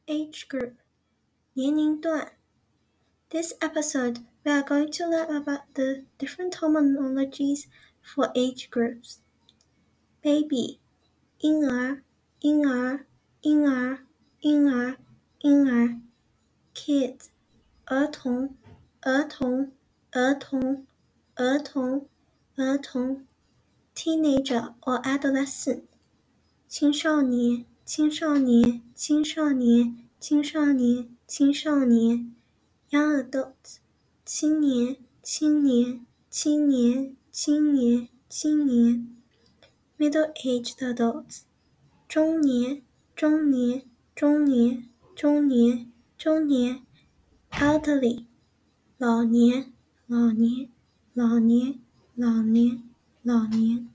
Age group 年龄段 This episode, we are going to learn about the different terminologies for age groups. Baby 婴儿婴儿婴儿婴儿婴儿 Kids 儿童儿童儿童儿童儿童 Teenager or adolescent 青少年青少年青少年青少年青少年 Young adults 青年青年青年青年青年 Middle-aged adults 中年中年中年中年中年 Elderly 老年老年老年老年老年